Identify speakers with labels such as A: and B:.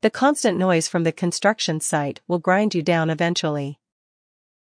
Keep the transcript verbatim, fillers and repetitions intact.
A: The constant noise from the construction site will grind you down eventually.